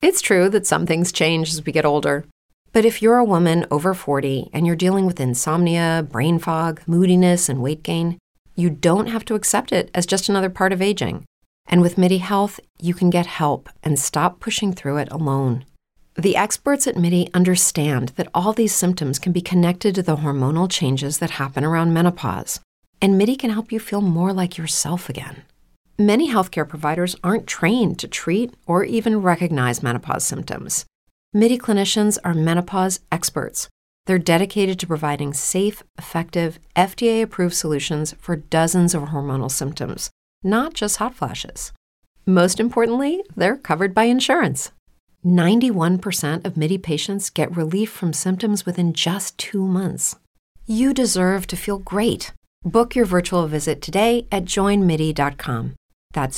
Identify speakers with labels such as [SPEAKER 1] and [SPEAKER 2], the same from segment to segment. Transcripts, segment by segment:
[SPEAKER 1] It's true that some things change as we get older. But if you're a woman over 40 and you're dealing with insomnia, brain fog, moodiness, and weight gain, you don't have to accept it as just another part of aging. And with MIDI Health, you can get help and stop pushing through it alone. The experts at MIDI understand that all these symptoms can be connected to the hormonal changes that happen around menopause, and MIDI can help you feel more like yourself again. Many healthcare providers aren't trained to treat or even recognize menopause symptoms. MIDI clinicians are menopause experts. They're dedicated to providing safe, effective, FDA-approved solutions for dozens of hormonal symptoms, not just hot flashes. Most importantly, they're covered by insurance. 91% of MIDI patients get relief from symptoms within just 2 months. You deserve to feel great. Book your virtual visit today at joinmidi.com. That's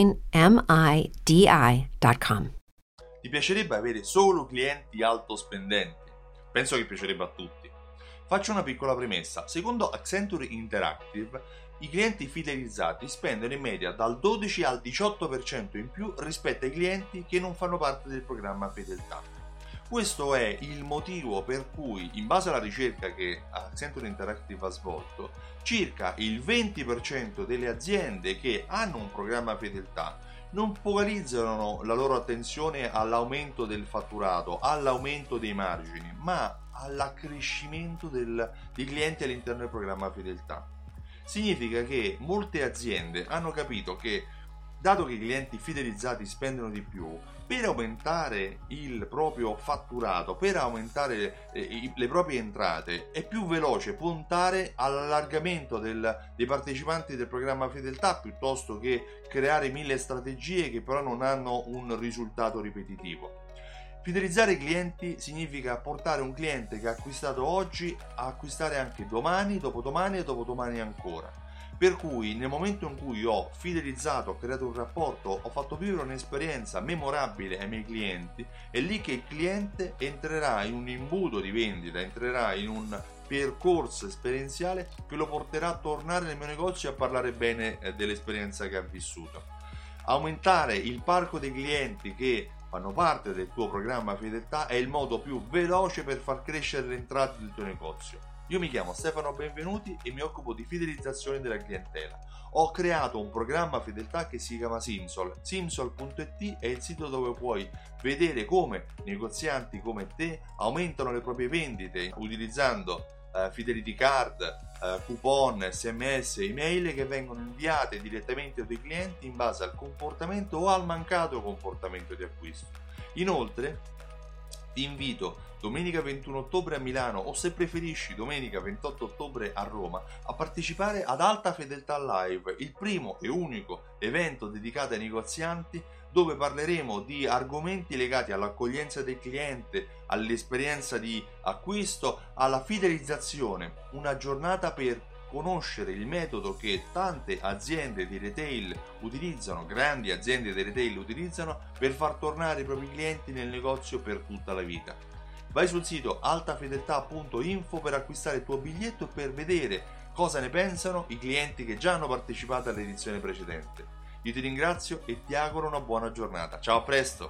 [SPEAKER 1] joinmidi.com.
[SPEAKER 2] Ti piacerebbe avere solo clienti alto spendenti? Penso che piacerebbe a tutti. Faccio una piccola premessa. Secondo Accenture Interactive, i clienti fidelizzati spendono in media dal 12 al 18% in più rispetto ai clienti che non fanno parte del programma Fedeltà. Questo è il motivo per cui, in base alla ricerca che Accenture Interactive ha svolto, circa il 20% delle aziende che hanno un programma Fedeltà non focalizzano la loro attenzione all'aumento del fatturato, all'aumento dei margini, ma all'accrescimento dei clienti all'interno del programma Fedeltà. Significa che molte aziende hanno capito che, dato che i clienti fidelizzati spendono di più, per aumentare il proprio fatturato, per aumentare le proprie entrate, è più veloce puntare all'allargamento dei partecipanti del programma Fedeltà piuttosto che creare 1000 strategie che però non hanno un risultato ripetitivo. Fidelizzare i clienti significa portare un cliente che ha acquistato oggi a acquistare anche domani, dopodomani e dopodomani ancora. Per cui nel momento in cui ho fidelizzato, ho creato un rapporto, ho fatto vivere un'esperienza memorabile ai miei clienti, è lì che il cliente entrerà in un imbuto di vendita, entrerà in un percorso esperienziale che lo porterà a tornare nel mio negozio e a parlare bene dell'esperienza che ha vissuto. Aumentare il parco dei clienti che fanno parte del tuo programma Fedeltà è il modo più veloce per far crescere le entrate del tuo negozio. Io mi chiamo Stefano Benvenuti e mi occupo di fidelizzazione della clientela. Ho creato un programma Fedeltà che si chiama Simsol. Simsol.it è il sito dove puoi vedere come negozianti come te aumentano le proprie vendite utilizzando Fidelity Card, coupon, SMS, email che vengono inviate direttamente ai tuoi clienti in base al comportamento o al mancato comportamento di acquisto. Inoltre ti invito domenica 21 ottobre a Milano o, se preferisci, domenica 28 ottobre a Roma a partecipare ad Alta Fedeltà Live, il primo e unico evento dedicato ai negozianti dove parleremo di argomenti legati all'accoglienza del cliente, all'esperienza di acquisto, alla fidelizzazione. Una giornata per conoscere il metodo che tante aziende di retail utilizzano, grandi aziende di retail utilizzano per far tornare i propri clienti nel negozio per tutta la vita. Vai sul sito altafedeltà.info per acquistare il tuo biglietto e per vedere cosa ne pensano i clienti che già hanno partecipato all'edizione precedente. Io ti ringrazio e ti auguro una buona giornata. Ciao, a presto!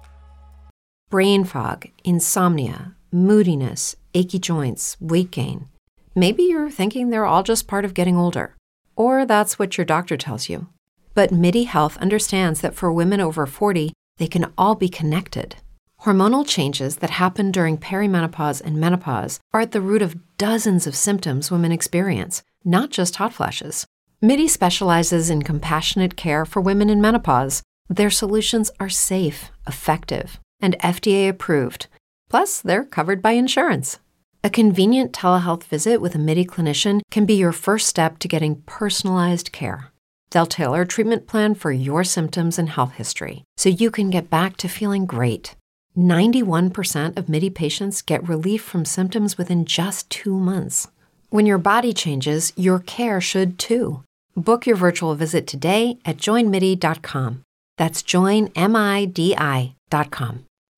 [SPEAKER 1] Brain fog, insomnia, moodiness, achy joints, weight gain. Maybe you're thinking they're all just part of getting older, or that's what your doctor tells you. But MIDI Health understands that for women over 40, they can all be connected. Hormonal changes that happen during perimenopause and menopause are at the root of dozens of symptoms women experience, not just hot flashes. MIDI specializes in compassionate care for women in menopause. Their solutions are safe, effective, and FDA approved. Plus, they're covered by insurance. A convenient telehealth visit with a MIDI clinician can be your first step to getting personalized care. They'll tailor a treatment plan for your symptoms and health history so you can get back to feeling great. 91% of MIDI patients get relief from symptoms within just 2 months. When your body changes, your care should too. Book your virtual visit today at joinmidi.com. That's joinmidi.com.